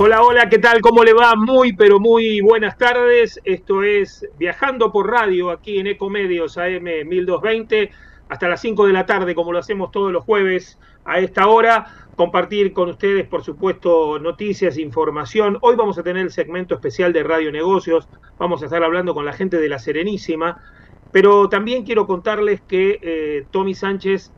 Hola, hola, ¿qué tal? ¿Cómo le va? Muy, pero muy buenas tardes. Esto es Viajando por Radio, aquí en Ecomedios AM 1220, hasta las 5 de la tarde, como lo hacemos todos los jueves a esta hora. Compartir con ustedes, por supuesto, noticias, información. Hoy vamos a tener el segmento especial de Radio Negocios. Vamos a estar hablando con la gente de La Serenísima. Pero también quiero contarles que Tommy Sánchez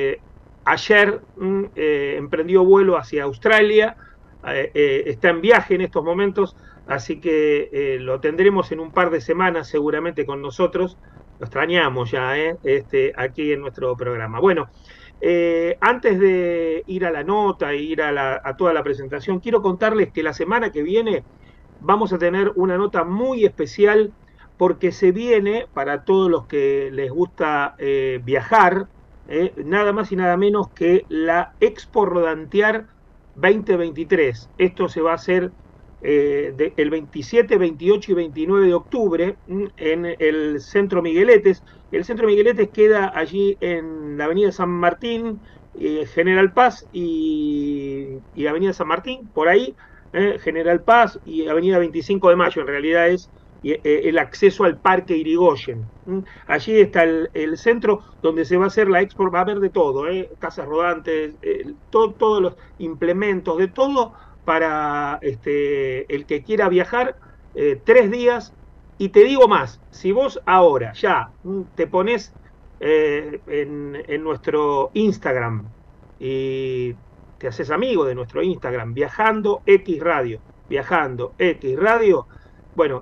ayer emprendió vuelo hacia Australia. Está en viaje en estos momentos, así que lo tendremos en un par de semanas seguramente con nosotros. Lo extrañamos ya aquí en nuestro programa. Bueno, antes de ir a la nota e ir a toda la presentación, quiero contarles que la semana que viene vamos a tener una nota muy especial porque se viene, para todos los que les gusta viajar, nada más y nada menos que la Expo Rodantear 2023. Esto se va a hacer el 27, 28 y 29 de octubre en el Centro Migueletes. El Centro Migueletes queda allí en la Avenida San Martín, General Paz y Avenida San Martín, por ahí, General Paz y Avenida 25 de Mayo, en realidad es el acceso al Parque Irigoyen. Allí está el centro donde se va a hacer la expo, va a haber de todo, casas rodantes, todos los implementos, de todo para el que quiera viajar 3 días. Y te digo más, si vos ahora ya te pones en nuestro Instagram y te haces amigo de nuestro Instagram, Viajando X Radio, bueno,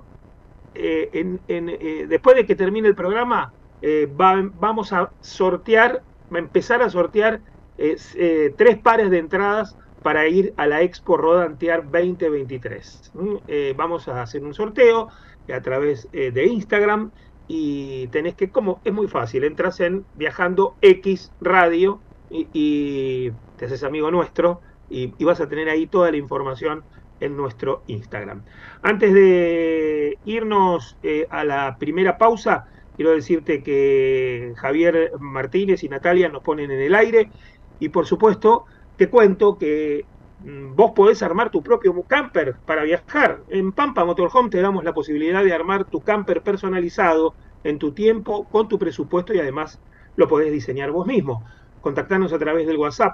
después de que termine el programa, vamos a sortear, a empezar a sortear 3 pares de entradas para ir a la Expo Rodantear 2023. Vamos a hacer un sorteo a través de Instagram y tenés que, como es muy fácil, entras en Viajando X Radio y te haces amigo nuestro y vas a tener ahí toda la información en nuestro Instagram. Antes de irnos a la primera pausa, quiero decirte que Javier Martínez y Natalia nos ponen en el aire y por supuesto te cuento que vos podés armar tu propio camper para viajar. En Pampa Motorhome te damos la posibilidad de armar tu camper personalizado en tu tiempo, con tu presupuesto y además lo podés diseñar vos mismo. Contactanos a través del WhatsApp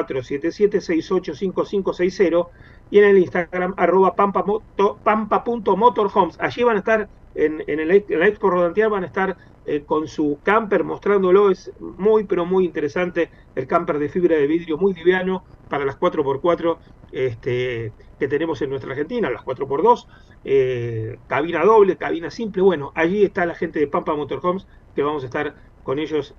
2477685560 y en el Instagram @pampa.motorhomes. Allí van a estar, en la Expo Rodantear van a estar con su camper mostrándolo. Es muy, pero muy interesante el camper de fibra de vidrio, muy liviano para las 4x4 que tenemos en nuestra Argentina, las 4x2, cabina doble, cabina simple. Bueno, allí está la gente de Pampa Motorhomes, que vamos a estar con ellos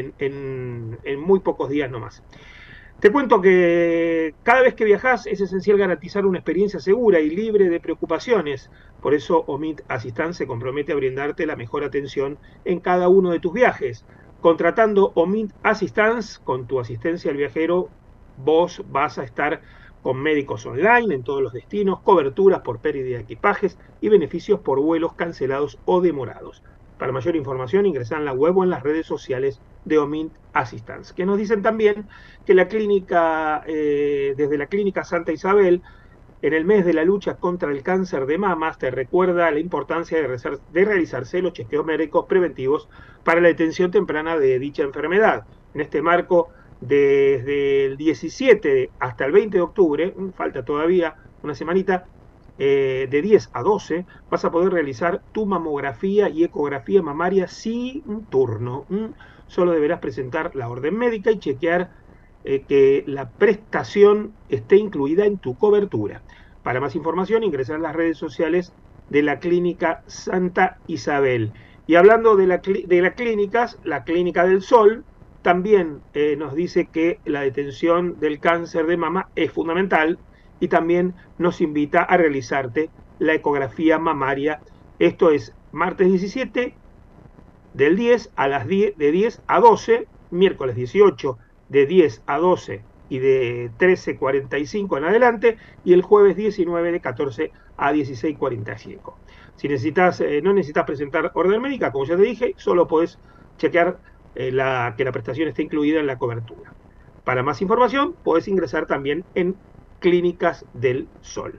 en muy pocos días nomás. Te cuento que cada vez que viajas es esencial garantizar una experiencia segura y libre de preocupaciones. Por eso Omid Assistance se compromete a brindarte la mejor atención en cada uno de tus viajes. Contratando Omid Assistance con tu asistencia al viajero, vos vas a estar con médicos online en todos los destinos, coberturas por pérdida de equipajes y beneficios por vuelos cancelados o demorados. Para mayor información ingresá en la web o en las redes sociales de Omid Assistance, que nos dicen también que la clínica, desde la Clínica Santa Isabel, en el mes de la lucha contra el cáncer de mamas, te recuerda la importancia de realizarse los chequeos médicos preventivos para la detención temprana de dicha enfermedad. En este marco, desde el 17 hasta el 20 de octubre, falta todavía una semanita, de 10 a 12, vas a poder realizar tu mamografía y ecografía mamaria sin turno. Solo deberás presentar la orden médica y chequear que la prestación esté incluida en tu cobertura. Para más información, ingresar a las redes sociales de la Clínica Santa Isabel. Y hablando de las clínicas, la Clínica del Sol también nos dice que la detención del cáncer de mama es fundamental y también nos invita a realizarte la ecografía mamaria. Esto es martes 17 del 10 a las 10, de 10 a 12, miércoles 18 de 10 a 12 y de 13:45 en adelante, y el jueves 19 de 14 a 16:45. Si no necesitas presentar orden médica, como ya te dije, solo podés chequear que la prestación esté incluida en la cobertura. Para más información, podés ingresar también en Clínicas del Sol.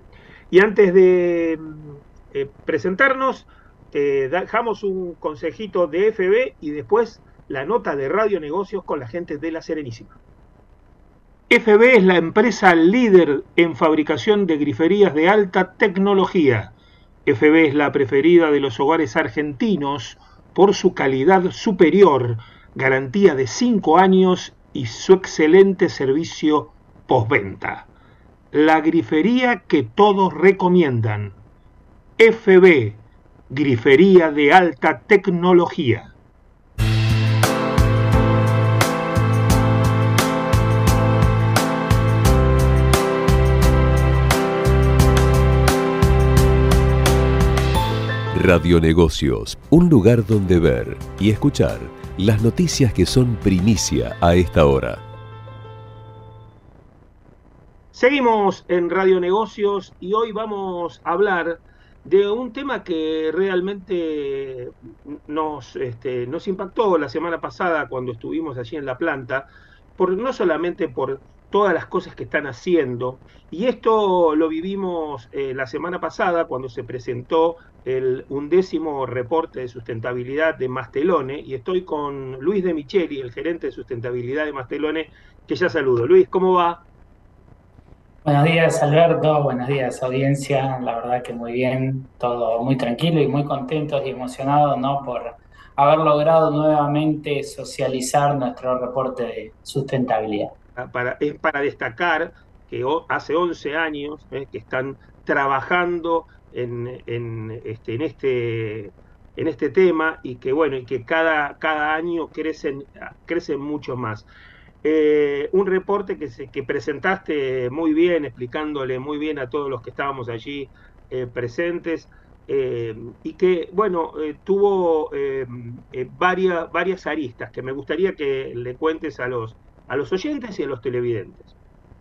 Y antes de presentarnos, dejamos un consejito de FB y después la nota de Radio Negocios con la gente de La Serenísima. FB es la empresa líder en fabricación de griferías de alta tecnología. FB es la preferida de los hogares argentinos por su calidad superior, garantía de 5 años y su excelente servicio postventa. La grifería que todos recomiendan. FB, grifería de alta tecnología. Radionegocios, un lugar donde ver y escuchar las noticias que son primicia a esta hora. Seguimos en Radionegocios y hoy vamos a hablar de un tema que realmente nos impactó la semana pasada cuando estuvimos allí en la planta, no solamente por todas las cosas que están haciendo, y esto lo vivimos la semana pasada cuando se presentó el 11º reporte de sustentabilidad de Mastelone, y estoy con Luis de Micheli, el gerente de sustentabilidad de Mastelone, que ya saludo. Luis, ¿cómo va? Buenos días, Alberto. Buenos días, audiencia. La verdad que muy bien, todo muy tranquilo y muy contentos y emocionados, ¿no? Por haber logrado nuevamente socializar nuestro reporte de sustentabilidad. Es para destacar que hace 11 años que están trabajando en este tema y que, bueno, y que cada año crecen mucho más. Un reporte que presentaste muy bien, explicándole muy bien a todos los que estábamos allí presentes, y que, bueno, tuvo varias aristas que me gustaría que le cuentes a los oyentes y a los televidentes.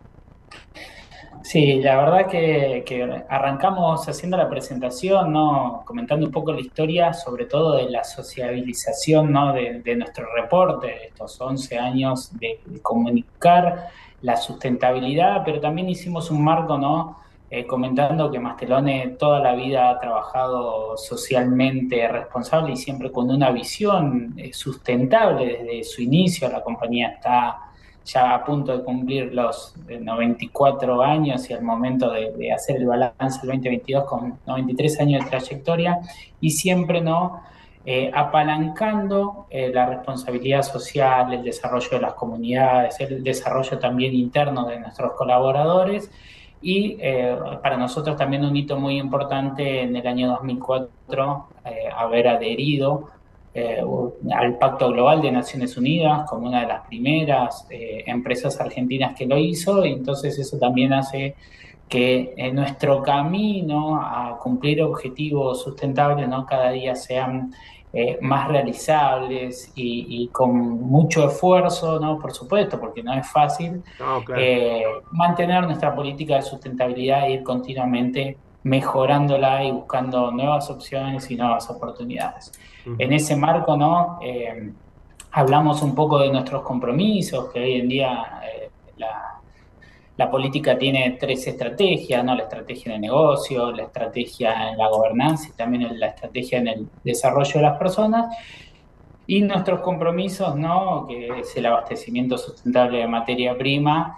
Sí, la verdad que arrancamos haciendo la presentación, ¿no? Comentando un poco la historia, sobre todo de la sociabilización, ¿no? de nuestro reporte, de estos 11 años de comunicar la sustentabilidad, pero también hicimos un marco, ¿no? Comentando que Mastelone toda la vida ha trabajado socialmente responsable y siempre con una visión sustentable desde su inicio. La compañía está ya a punto de cumplir los 94 años y al momento de hacer el balance del 2022 con 93 años de trayectoria y siempre no apalancando la responsabilidad social, el desarrollo de las comunidades, el desarrollo también interno de nuestros colaboradores y para nosotros también un hito muy importante en el año 2004 haber adherido al Pacto Global de Naciones Unidas como una de las primeras empresas argentinas que lo hizo, y entonces eso también hace que nuestro camino a cumplir objetivos sustentables, ¿no? Cada día sean más realizables y con mucho esfuerzo, ¿no? Por supuesto, porque no es fácil Claro. mantener nuestra política de sustentabilidad e ir continuamente mejorándola y buscando nuevas opciones y nuevas oportunidades. En ese marco, ¿no? Hablamos un poco de nuestros compromisos, que hoy en día la política tiene 3 estrategias, ¿no? La estrategia de negocio, la estrategia en la gobernanza y también la estrategia en el desarrollo de las personas. Y nuestros compromisos, ¿no? Que es el abastecimiento sustentable de materia prima,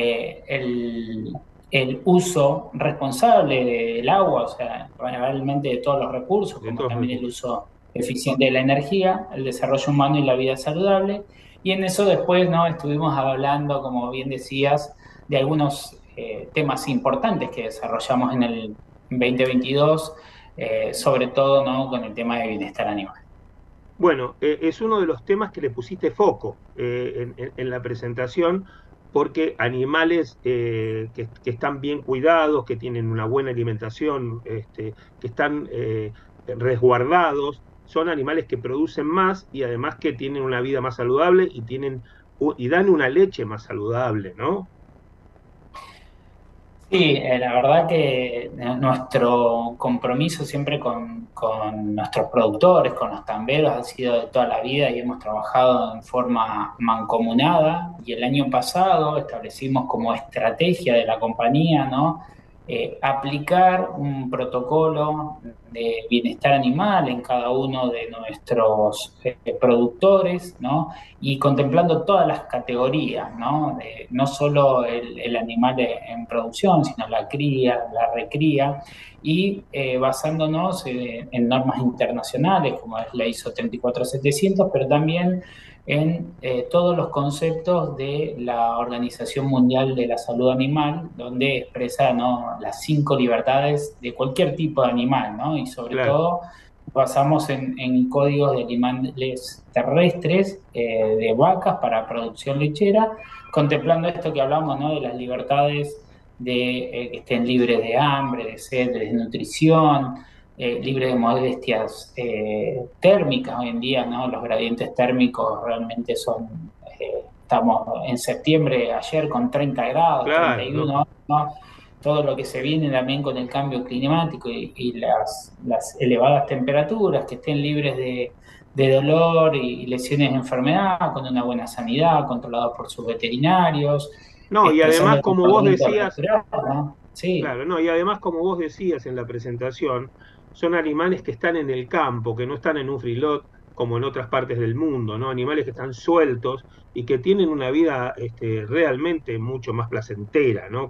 el uso responsable del agua, o sea, realmente de todos los recursos, como también el uso eficiente de la energía, el desarrollo humano y la vida saludable. Y en eso después, ¿no? Estuvimos hablando, como bien decías, de algunos temas importantes que desarrollamos en el 2022, sobre todo, ¿no? Con el tema de bienestar animal. Bueno, es uno de los temas que le pusiste foco en la presentación, porque animales que están bien cuidados, que tienen una buena alimentación, que están resguardados, son animales que producen más y además que tienen una vida más saludable y dan una leche más saludable, ¿no? Sí, la verdad que nuestro compromiso siempre con nuestros productores, con los tamberos, ha sido de toda la vida y hemos trabajado en forma mancomunada. Y el año pasado establecimos como estrategia de la compañía, ¿no? aplicar un protocolo de bienestar animal en cada uno de nuestros productores, ¿no? Y contemplando todas las categorías, ¿no? No solo el animal en producción, sino la cría, la recría, y basándonos en normas internacionales como es la ISO 34700, pero también en todos los conceptos de la Organización Mundial de la Salud Animal, donde expresa, ¿no?, las 5 libertades de cualquier tipo de animal, ¿no? Y sobre Claro. todo basamos en códigos de animales terrestres, de vacas para producción lechera, contemplando esto que hablamos, ¿no?, de las libertades de que estén libres de hambre, de sed, de desnutrición, libre de molestias térmicas hoy en día, ¿no? Los gradientes térmicos realmente son, estamos en septiembre ayer con 30 grados, Claro, ¿no? 31, ¿no? Todo lo que se viene también con el cambio climático y las elevadas temperaturas, que estén libres de dolor y lesiones de enfermedad, con una buena sanidad, controlados por sus veterinarios, No, y expresando además, el como vos comportamiento decías, natural, ¿no? Sí. claro, no, y además, como vos decías en la presentación, son animales que están en el campo, que no están en un freelot como en otras partes del mundo, ¿no? Animales que están sueltos y que tienen una vida realmente mucho más placentera, ¿no?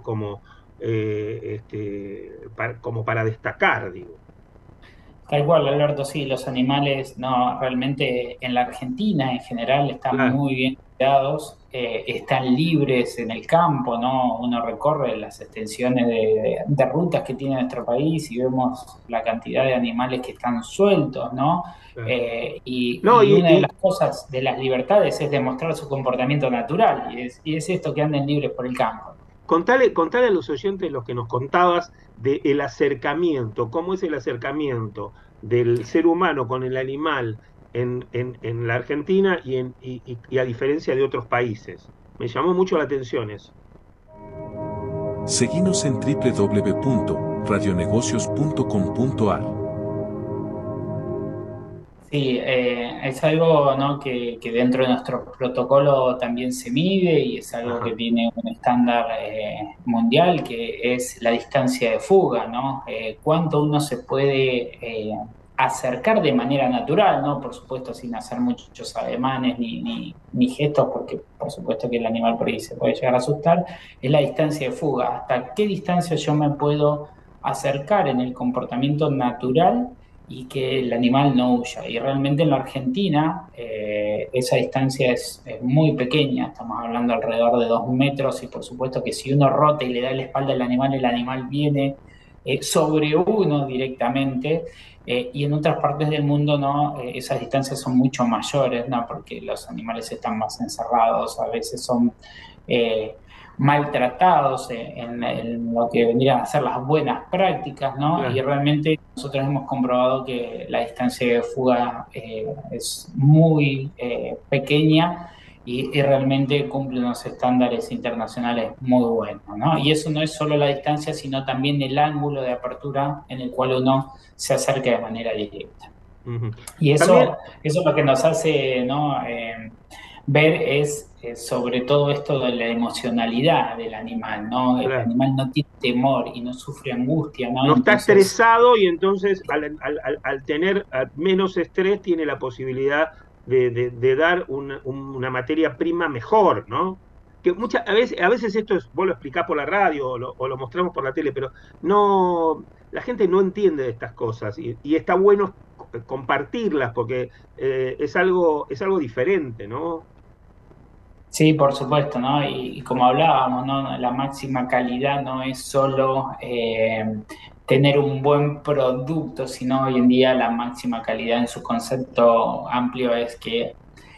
Como para destacar, digo. Tal cual, Alberto, sí, los animales, no, realmente en la Argentina en general están Claro, muy bien cuidados, están libres en el campo, ¿no? Uno recorre las extensiones de rutas que tiene nuestro país y vemos la cantidad de animales que están sueltos, ¿no? claro. No, Y una de las cosas de las libertades es demostrar su comportamiento natural, y es esto que anden libres por el campo. contale a los oyentes los que nos contabas del acercamiento, cómo es el acercamiento del ser humano con el animal en la Argentina y a diferencia de otros países. Me llamó mucho la atención eso. Seguinos en www.radionegocios.com.ar. Sí, es algo, ¿no?, que dentro de nuestro protocolo también se mide y es algo que Ajá, tiene un estándar mundial, que es la distancia de fuga, ¿no? Cuánto uno se puede acercar de manera natural, ¿no? Por supuesto, sin hacer muchos ademanes ni gestos, porque por supuesto que el animal por ahí se puede llegar a asustar, es la distancia de fuga. ¿Hasta qué distancia yo me puedo acercar en el comportamiento natural y que el animal no huya? Y realmente en la Argentina esa distancia es muy pequeña, estamos hablando alrededor de 2 metros, y por supuesto que si uno rota y le da la espalda al animal, el animal viene sobre uno directamente, y en otras partes del mundo no, esas distancias son mucho mayores, ¿no? Porque los animales están más encerrados, a veces son eh, maltratados en lo que vendrían a ser las buenas prácticas, ¿no? Y claro. realmente nosotros hemos comprobado que la distancia de fuga es muy pequeña y realmente cumple unos estándares internacionales muy buenos, ¿no? Y eso no es solo la distancia, sino también el ángulo de apertura en el cual uno se acerca de manera directa. Ujú. Y También, eso lo que nos hace, ¿no?, ver es sobre todo esto de la emocionalidad del animal, ¿no? El claro, animal no tiene temor y no sufre angustia, ¿no? no está Entonces, estresado y entonces al tener menos estrés tiene la posibilidad de dar una materia prima mejor, ¿no? Que a veces esto es, vos lo explicás por la radio o lo mostramos por la tele, pero no, la gente no entiende de estas cosas y está bueno compartirlas porque es algo diferente, ¿no? sí, por supuesto, ¿no? Y como hablábamos, ¿no? La máxima calidad no es solo tener un buen producto, sino hoy en día la máxima calidad en su concepto amplio es que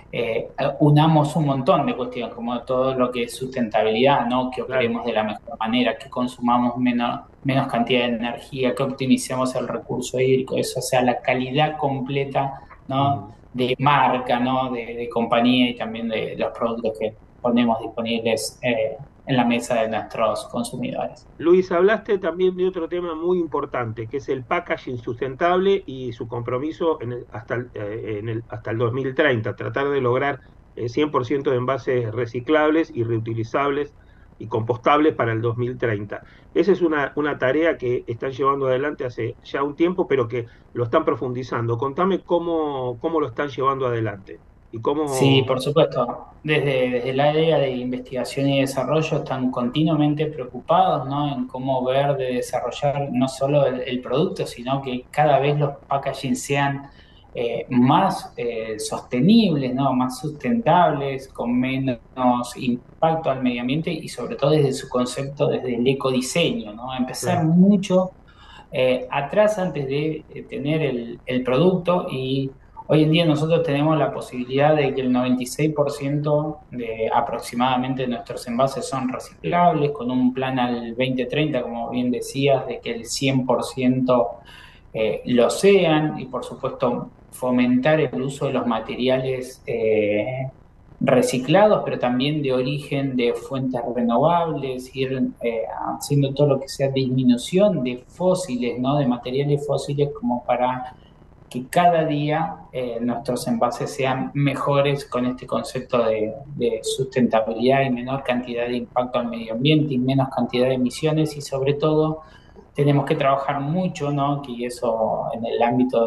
unamos un montón de cuestiones, como todo lo que es sustentabilidad, ¿no? Que Claro. operemos de la mejor manera, que consumamos menos cantidad de energía, que optimicemos el recurso hídrico, eso, o sea, la calidad completa, ¿no?, Ujú. de marca, ¿no?, de compañía, y también de los productos que ponemos disponibles en la mesa de nuestros consumidores. Luis, hablaste también de otro tema muy importante, que es el packaging sustentable y su compromiso hasta el 2030, tratar de lograr 100% de envases reciclables y reutilizables y compostables para el 2030. Esa es una tarea que están llevando adelante hace ya un tiempo, pero que lo están profundizando. Contame cómo lo están llevando adelante y Sí, cómo... por supuesto. Desde el área de investigación y desarrollo están continuamente preocupados, ¿no? En cómo ver de desarrollar no solo el producto, sino que cada vez los packaging sean más sostenibles, ¿no? Más sustentables, con menos impacto al medio ambiente y sobre todo desde su concepto, desde el ecodiseño, ¿no? Empezar Claro, mucho atrás antes de tener el producto y hoy en día nosotros tenemos la posibilidad de que el 96% de aproximadamente de nuestros envases son reciclables, con un plan al 2030, como bien decías, de que el 100% lo sean y por supuesto fomentar el uso de los materiales reciclados, pero también de origen de fuentes renovables, ir haciendo todo lo que sea disminución de fósiles, ¿no? De materiales fósiles como para que cada día nuestros envases sean mejores con este concepto de sustentabilidad y menor cantidad de impacto al medio ambiente y menos cantidad de emisiones y sobre todo tenemos que trabajar mucho, ¿no? Que eso en el ámbito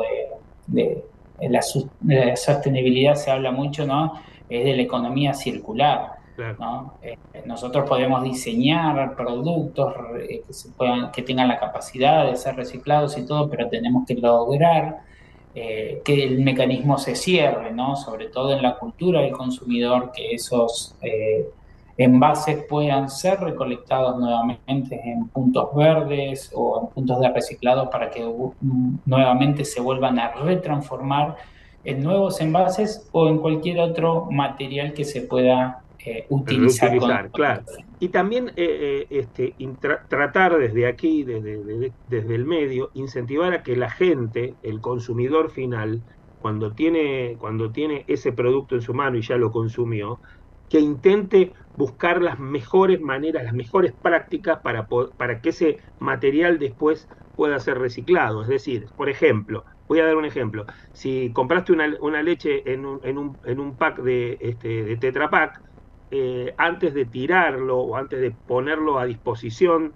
de la sostenibilidad se habla mucho, ¿no? Es de la economía circular, claro. ¿no? Nosotros podemos diseñar productos que tengan la capacidad de ser reciclados y todo, pero tenemos que lograr que el mecanismo se cierre, ¿no? Sobre todo en la cultura del consumidor, que esos envases puedan ser recolectados nuevamente en puntos verdes o en puntos de reciclado para que nuevamente se vuelvan a retransformar en nuevos envases o en cualquier otro material que se pueda utilizar con Reutilizar, claro. Y también tratar desde aquí, desde el medio, incentivar a que la gente, el consumidor final, cuando tiene ese producto en su mano y ya lo consumió, que intente buscar las mejores maneras, las mejores prácticas para que ese material después pueda ser reciclado. Es decir, por ejemplo, voy a dar un ejemplo. Si compraste una leche en un pack de Tetra Pak, antes de tirarlo o antes de ponerlo a disposición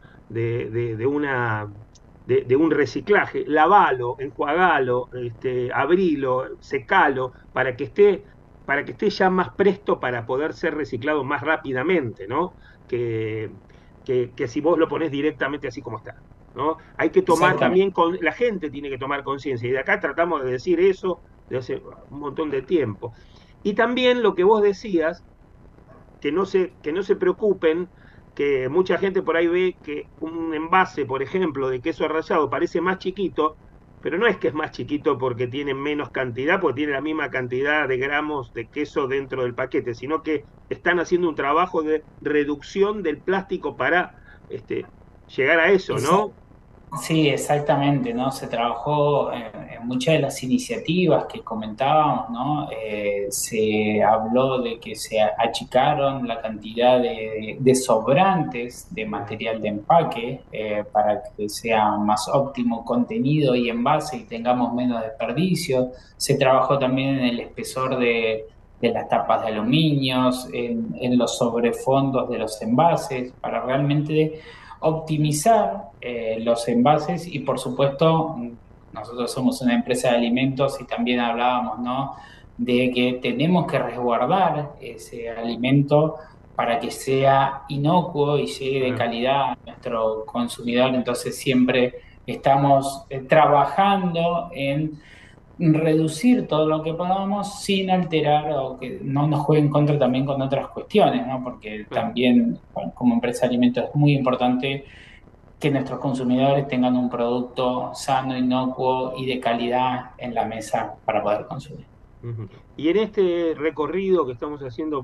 de un reciclaje, lavalo, enjuagalo, abrilo, secalo, para que esté ya más presto para poder ser reciclado más rápidamente, ¿no? Que si vos lo ponés directamente así como está, ¿no? Hay que tomar exactamente. también, la gente tiene que tomar conciencia, y de acá tratamos de decir eso de hace un montón de tiempo. Y también lo que vos decías, que no se preocupen, que mucha gente por ahí ve que un envase, por ejemplo, de queso rallado parece más chiquito, pero no es que es más chiquito porque tiene menos cantidad, porque tiene la misma cantidad de gramos de queso dentro del paquete, sino que están haciendo un trabajo de reducción del plástico para llegar a eso, ¿no? Sí, exactamente, ¿no? Se trabajó en muchas de las iniciativas que comentábamos, ¿no? Se habló de que se achicaron la cantidad de sobrantes de material de empaque para que sea más óptimo contenido y envase y tengamos menos desperdicio. Se trabajó también en el espesor de las tapas de aluminios, en los sobrefondos de los envases, para realmente optimizar los envases y por supuesto nosotros somos una empresa de alimentos y también hablábamos, ¿no? De que tenemos que resguardar ese alimento para que sea inocuo y llegue de Ah, calidad a nuestro consumidor. Entonces siempre estamos trabajando en reducir todo lo que podamos sin alterar o que no nos juegue en contra también con otras cuestiones, ¿no? Porque claro. también, bueno, como empresa de alimentos es muy importante que nuestros consumidores tengan un producto sano, inocuo y de calidad en la mesa para poder consumir. Ujú. Y en este recorrido que estamos haciendo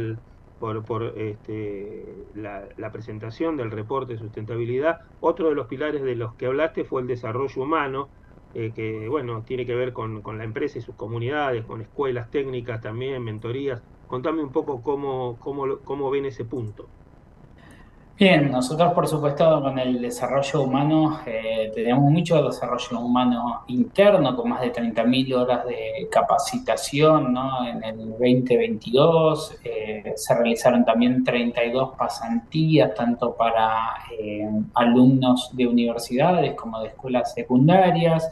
por la presentación del reporte de sustentabilidad, otro de los pilares de los que hablaste fue el desarrollo humano, que bueno, tiene que ver con la empresa y sus comunidades, con escuelas técnicas también, mentorías. Contame un poco cómo ven ese punto. Bien, nosotros por supuesto con el desarrollo humano tenemos mucho desarrollo humano interno, con más de 30.000 horas de capacitación, ¿no? En el 2022 se realizaron también 32 pasantías, tanto para alumnos de universidades como de escuelas secundarias.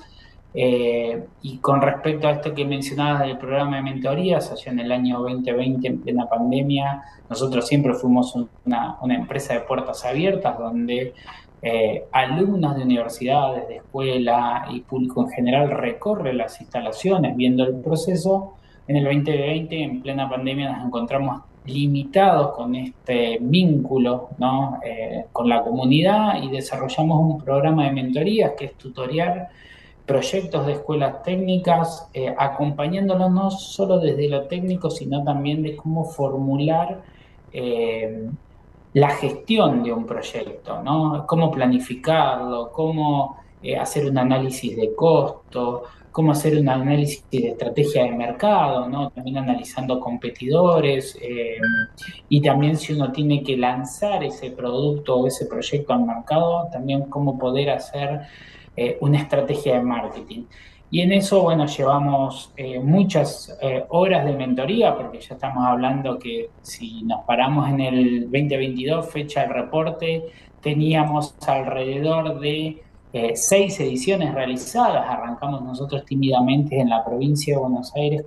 Y con respecto a esto que mencionabas del programa de mentorías, allá en el año 2020, en plena pandemia, nosotros siempre fuimos una empresa de puertas abiertas donde alumnos de universidades, de escuela y público en general recorre las instalaciones viendo el proceso. En el 2020, en plena pandemia, nos encontramos limitados con este vínculo, ¿no? Con la comunidad, y desarrollamos un programa de mentorías que es tutoriar proyectos de escuelas técnicas, acompañándolos no solo desde lo técnico, sino también de cómo formular eh, la gestión de un proyecto, ¿no? Cómo planificarlo, cómo hacer un análisis de costo, cómo hacer un análisis de estrategia de mercado, ¿no? También analizando competidores, y también si uno tiene que lanzar ese producto o ese proyecto al mercado, también cómo poder hacer una estrategia de marketing. Y en eso, bueno, llevamos muchas horas de mentoría, porque ya estamos hablando que si nos paramos en el 2022, fecha del reporte, teníamos alrededor de 6 ediciones realizadas. Arrancamos nosotros tímidamente en la provincia de Buenos Aires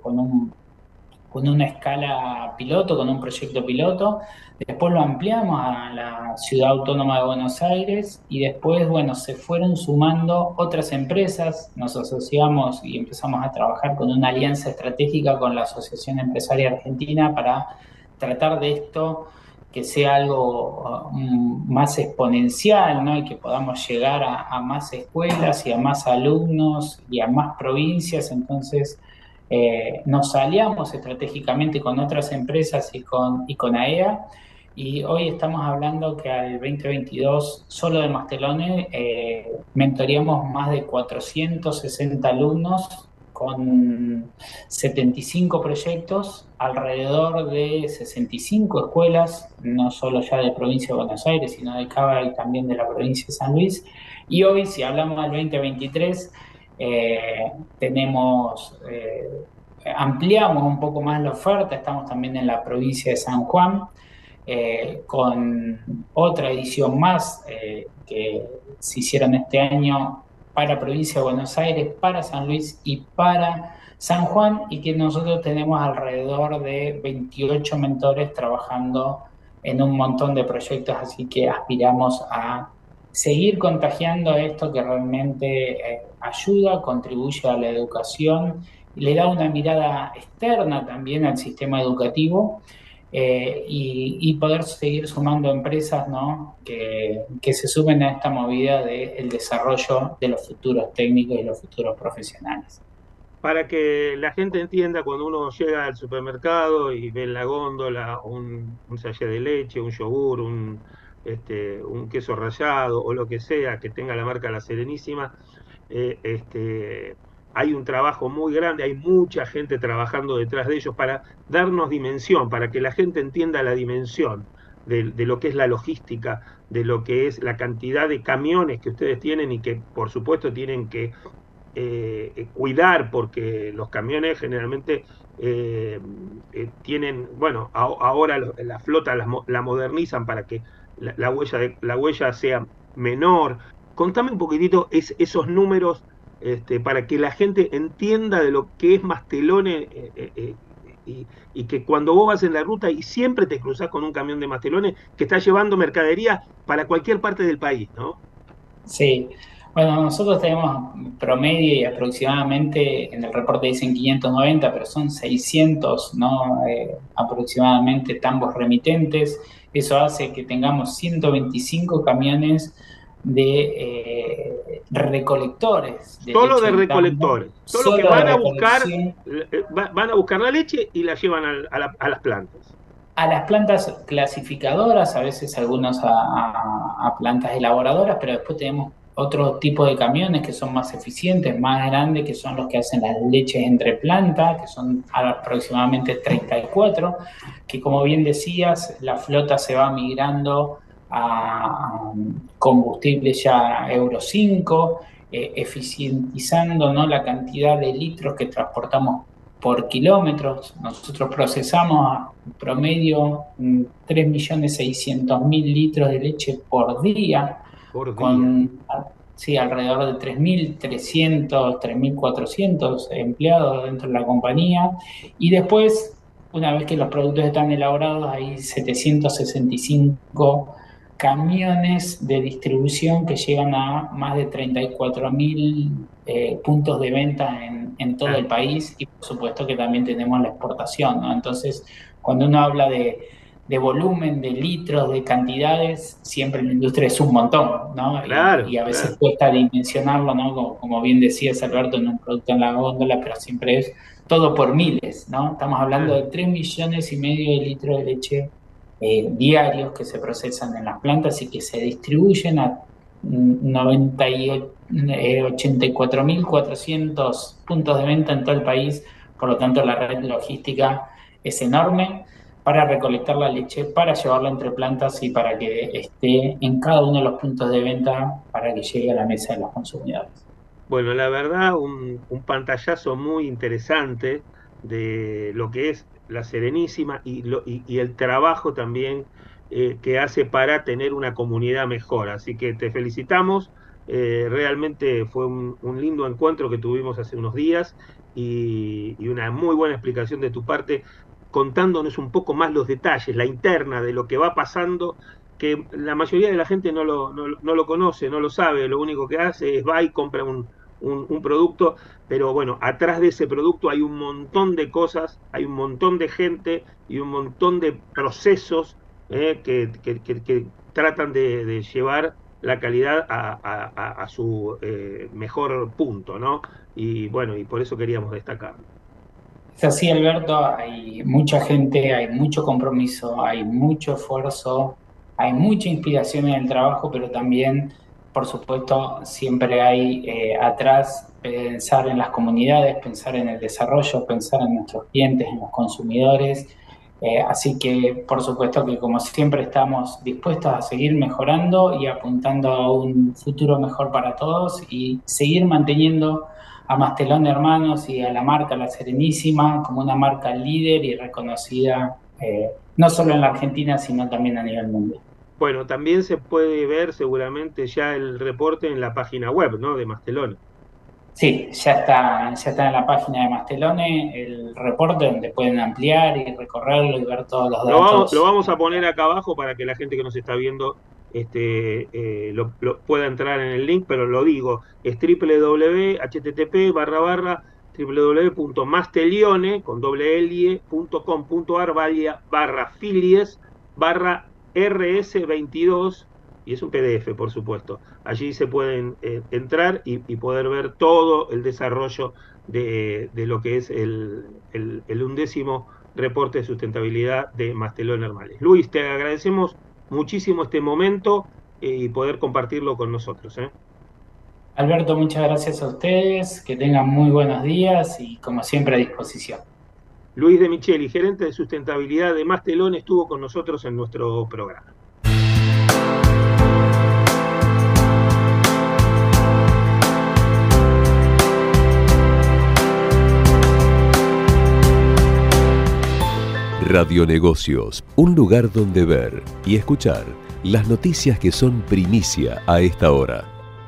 con una escala piloto, con un proyecto piloto. Después lo ampliamos a la Ciudad Autónoma de Buenos Aires y después, bueno, se fueron sumando otras empresas. Nos asociamos y empezamos a trabajar con una alianza estratégica con la Asociación Empresaria Argentina para tratar de esto que sea algo más exponencial, ¿no? Y que podamos llegar a más escuelas y a más alumnos y a más provincias. Entonces, nos aliamos estratégicamente con otras empresas y con AEA, y hoy estamos hablando que al 2022, solo de Mastelone, mentoreamos más de 460 alumnos con 75 proyectos, alrededor de 65 escuelas, no solo ya de provincia de Buenos Aires, sino de Cava y también de la provincia de San Luis. Y hoy, si hablamos del 2023, tenemos, ampliamos un poco más la oferta, estamos también en la provincia de San Juan, con otra edición más que se hicieron este año para provincia de Buenos Aires, para San Luis y para San Juan, y que nosotros tenemos alrededor de 28 mentores trabajando en un montón de proyectos, así que aspiramos a seguir contagiando esto que realmente ayuda, contribuye a la educación y le da una mirada externa también al sistema educativo, y poder seguir sumando empresas, ¿no? que se sumen a esta movida del desarrollo de los futuros técnicos y los futuros profesionales. Para que la gente entienda, cuando uno llega al supermercado y ve en la góndola un sachet de leche, un yogur, un queso rallado o lo que sea que tenga la marca La Serenísima, hay un trabajo muy grande, hay mucha gente trabajando detrás de ellos para darnos dimensión, para que la gente entienda la dimensión de lo que es la logística, de lo que es la cantidad de camiones que ustedes tienen y que por supuesto tienen que cuidar, porque los camiones generalmente tienen, bueno, ahora la flota la modernizan para que la huella sea menor. Contame un poquitito esos números, para que la gente entienda de lo que es Mastelone, y que cuando vos vas en la ruta y siempre te cruzás con un camión de Mastelone que está llevando mercadería para cualquier parte del país, ¿no? Sí, bueno, nosotros tenemos promedio y aproximadamente, en el reporte dicen 590, pero son 600, ¿no? Aproximadamente tambos remitentes. Eso hace que tengamos 125 camiones de recolectores de Solo leche de en tambo, recolectores, solo que solo de van a buscar, recolección. van a buscar la leche y la llevan a las plantas. A las plantas clasificadoras, a veces algunos a plantas elaboradoras, pero después tenemos otro tipo de camiones que son más eficientes, más grandes, que son los que hacen las leches entre plantas, que son aproximadamente 34, que como bien decías, la flota se va migrando a combustibles ya Euro 5, eficientizando, ¿no?, la cantidad de litros que transportamos por kilómetros. Nosotros procesamos promedio 3.600.000 litros de leche por día, Por día. con sí, alrededor de 3.300, 3.400 empleados dentro de la compañía. Y después, una vez que los productos están elaborados, hay 765 camiones de distribución que llegan a más de 34.000 puntos de venta en todo el país, y por supuesto que también tenemos la exportación, ¿no? Entonces, cuando uno habla de volumen, de litros, de cantidades, siempre en la industria es un montón, ¿no? Claro, Y a veces claro. cuesta dimensionarlo, ¿no? Como bien decías, Alberto, en un producto en la góndola, pero siempre es todo por miles, ¿no? Estamos hablando de 3,5 millones de litros de leche diarios que se procesan en las plantas y que se distribuyen a 84.400 puntos de venta en todo el país. Por lo tanto, la red logística es enorme para recolectar la leche, para llevarla entre plantas y para que esté en cada uno de los puntos de venta para que llegue a la mesa de los consumidores. Bueno, la verdad, un pantallazo muy interesante de lo que es la Serenísima y el trabajo también que hace para tener una comunidad mejor. Así que te felicitamos. Realmente fue un lindo encuentro que tuvimos hace unos días y una muy buena explicación de tu parte, contándonos un poco más los detalles, la interna de lo que va pasando, que la mayoría de la gente no lo conoce, no lo sabe. Lo único que hace es va y compra un producto, pero bueno, atrás de ese producto hay un montón de cosas, hay un montón de gente y un montón de procesos que tratan de llevar la calidad a su mejor punto, ¿no? Y bueno, y por eso queríamos destacarlo. Es así, Alberto, hay mucha gente, hay mucho compromiso, hay mucho esfuerzo, hay mucha inspiración en el trabajo, pero también, por supuesto, siempre hay atrás pensar en las comunidades, pensar en el desarrollo, pensar en nuestros clientes, en los consumidores. Así que, por supuesto que como siempre estamos dispuestos a seguir mejorando y apuntando a un futuro mejor para todos y seguir manteniendo a Mastelón Hermanos y a la marca La Serenísima como una marca líder y reconocida no solo en la Argentina, sino también a nivel mundial. Bueno, también se puede ver seguramente ya el reporte en la página web, ¿no?, de Mastelone. Sí, ya está en la página de Mastelone el reporte donde pueden ampliar y recorrerlo y ver todos los Lo datos. vamos a poner acá abajo para que la gente que nos está viendo lo pueda entrar en el link, pero lo digo, es www.mastelione con .com.ar /filies /rs22, y es un PDF, por supuesto. Allí se pueden entrar y poder ver todo el desarrollo de lo que es el 11º reporte de sustentabilidad de Mastelón Hermales. Luis, te agradecemos muchísimo este momento y poder compartirlo con nosotros. Alberto, muchas gracias a ustedes, que tengan muy buenos días y como siempre a disposición. Luis de Micheli, gerente de sustentabilidad de Mastelón, estuvo con nosotros en nuestro programa. Radionegocios, un lugar donde ver y escuchar las noticias que son primicia a esta hora.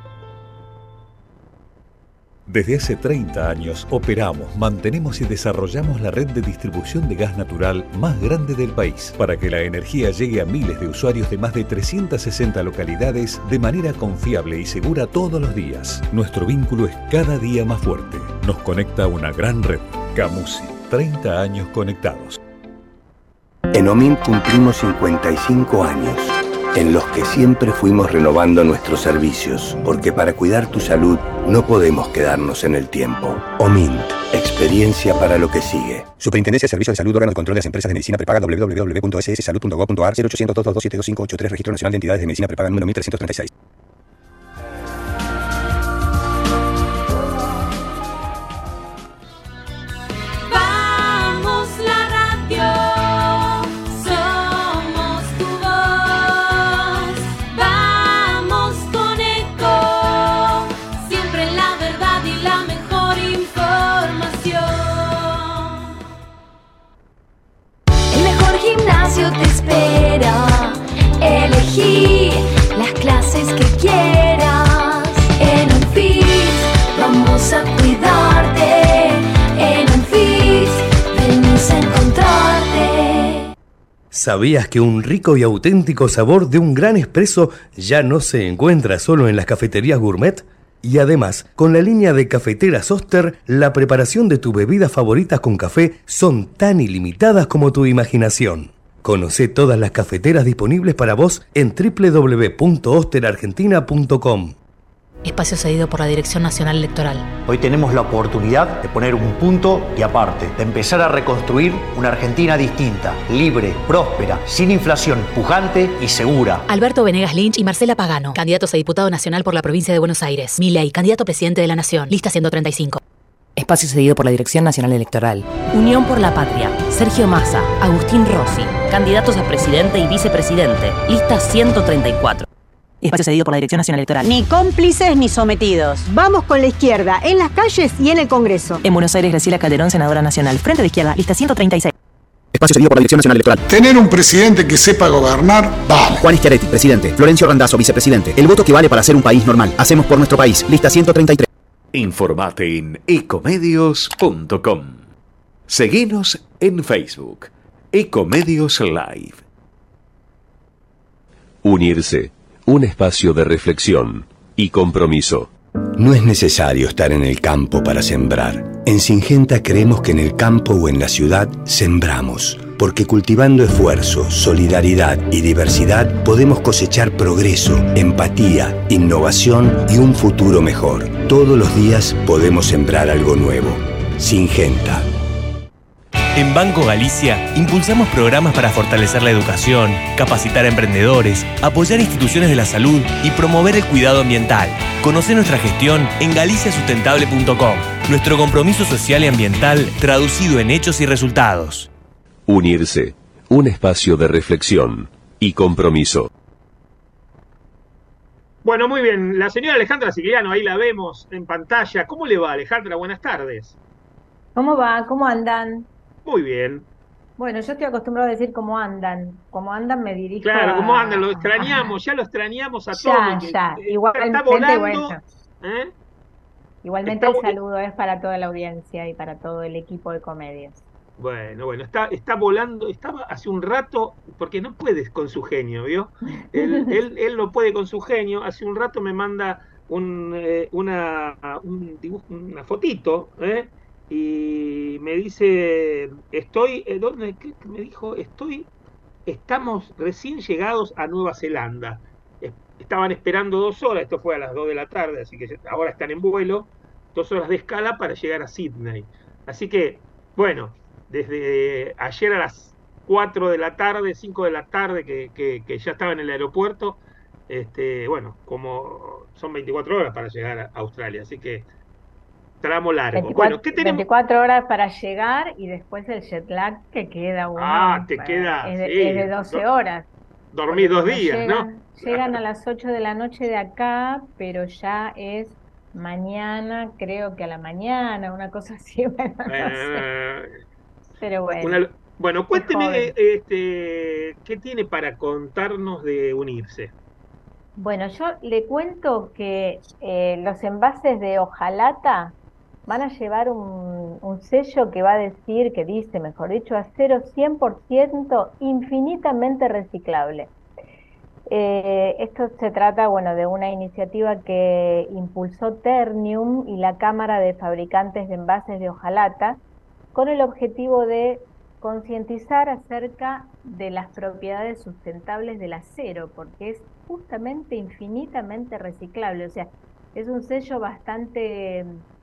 Desde hace 30 años operamos, mantenemos y desarrollamos la red de distribución de gas natural más grande del país para que la energía llegue a miles de usuarios de más de 360 localidades de manera confiable y segura todos los días. Nuestro vínculo es cada día más fuerte. Nos conecta a una gran red. Camusi, 30 años conectados. En OMINT cumplimos 55 años, en los que siempre fuimos renovando nuestros servicios, porque para cuidar tu salud no podemos quedarnos en el tiempo. OMINT, experiencia para lo que sigue. Superintendencia de Servicios de Salud, órgano de control de las empresas de medicina prepaga, www.sssalud.gov.ar, 0800 222 7583, Registro Nacional de Entidades de Medicina Prepaga número 1336. Vamos la radio, somos tu voz. elegí las clases que quieras. En Anfis vamos a cuidarte. En Anfis venimos a encontrarte. ¿Sabías que un rico y auténtico sabor de un gran espresso ya no se encuentra solo en las cafeterías gourmet? Y además, con la línea de cafeteras Oster, la preparación de tus bebidas favoritas con café son tan ilimitadas como tu imaginación. Conoce todas las cafeteras disponibles para vos en www.osterargentina.com. Espacio cedido por la Dirección Nacional Electoral. Hoy tenemos la oportunidad de poner un punto y aparte, de empezar a reconstruir una Argentina distinta, libre, próspera, sin inflación, pujante y segura. Alberto Venegas Lynch y Marcela Pagano, candidatos a diputado nacional por la provincia de Buenos Aires. Milei, candidato a presidente de la Nación, lista 135. Espacio cedido por la Dirección Nacional Electoral. Unión por la Patria. Sergio Massa, Agustín Rossi, candidatos a presidente y vicepresidente, lista 134. Espacio cedido por la Dirección Nacional Electoral. Ni cómplices ni sometidos. Vamos con la izquierda, en las calles y en el Congreso. En Buenos Aires, Graciela Calderón, senadora nacional. Frente de Izquierda, lista 136. Espacio cedido por la Dirección Nacional Electoral. Tener un presidente que sepa gobernar, vamos. Juan Schiaretti, presidente. Florencio Randazzo, vicepresidente. El voto que vale para ser un país normal. Hacemos por nuestro país. Lista 133. Informate en ecomedios.com. Seguinos en Facebook. Ecomedios Live. Unirse. Un espacio de reflexión y compromiso. No es necesario estar en el campo para sembrar. En Syngenta creemos que en el campo o en la ciudad sembramos, porque cultivando esfuerzo, solidaridad y diversidad podemos cosechar progreso, empatía, innovación y un futuro mejor. Todos los días podemos sembrar algo nuevo. Syngenta. En Banco Galicia impulsamos programas para fortalecer la educación, capacitar a emprendedores, apoyar instituciones de la salud y promover el cuidado ambiental. Conoce nuestra gestión en galiciasustentable.com. Nuestro compromiso social y ambiental traducido en hechos y resultados. Unirse. Un espacio de reflexión y compromiso. Bueno, muy bien. La señora Alejandra Sigliano, ahí la vemos en pantalla. ¿Cómo le va, Alejandra? Buenas tardes. ¿Cómo va? ¿Cómo andan? Muy bien. Bueno, yo estoy acostumbrado a decir cómo andan. Como andan me dirijo Claro, a... cómo andan, lo extrañamos, ya lo extrañamos a ya, todos. Ya, igualmente, está volando, bueno. ¿eh? Igualmente el saludo es para toda la audiencia y para todo el equipo de Comedios. Bueno, está volando, estaba hace un rato, porque no puedes con su genio, ¿vio? Él no puede con su genio, hace un rato me manda un dibujo, una fotito, y me dice, ¿dónde? ¿Qué me dijo? Estamos recién llegados a Nueva Zelanda. Estaban esperando 2 horas, esto fue a las 2 de la tarde, así que ahora están en vuelo, 2 horas de escala para llegar a Sydney. Así que, bueno, desde ayer a las 4 de la tarde, 5 de la tarde, que ya estaba en el aeropuerto, bueno, como son 24 horas para llegar a Australia, así que tramo largo. 24, bueno, ¿qué tenemos? 24 horas para llegar y después el jet lag que queda uno. Te queda, es sí, de 12 horas. Dormí 2 días, ¿no? Llegan a las 8 de la noche de acá, pero ya es mañana, creo que a la mañana, una cosa así, bueno, no sé. Pero bueno. Bueno, cuénteme, ¿qué tiene para contarnos de Unirse? Bueno, yo le cuento que los envases de hojalata van a llevar un sello que va a decir, que dice, mejor dicho, acero 100% infinitamente reciclable. Esto se trata, bueno, de una iniciativa que impulsó Ternium y la Cámara de Fabricantes de Envases de Hojalata con el objetivo de concientizar acerca de las propiedades sustentables del acero, porque es justamente infinitamente reciclable. O sea, es un sello bastante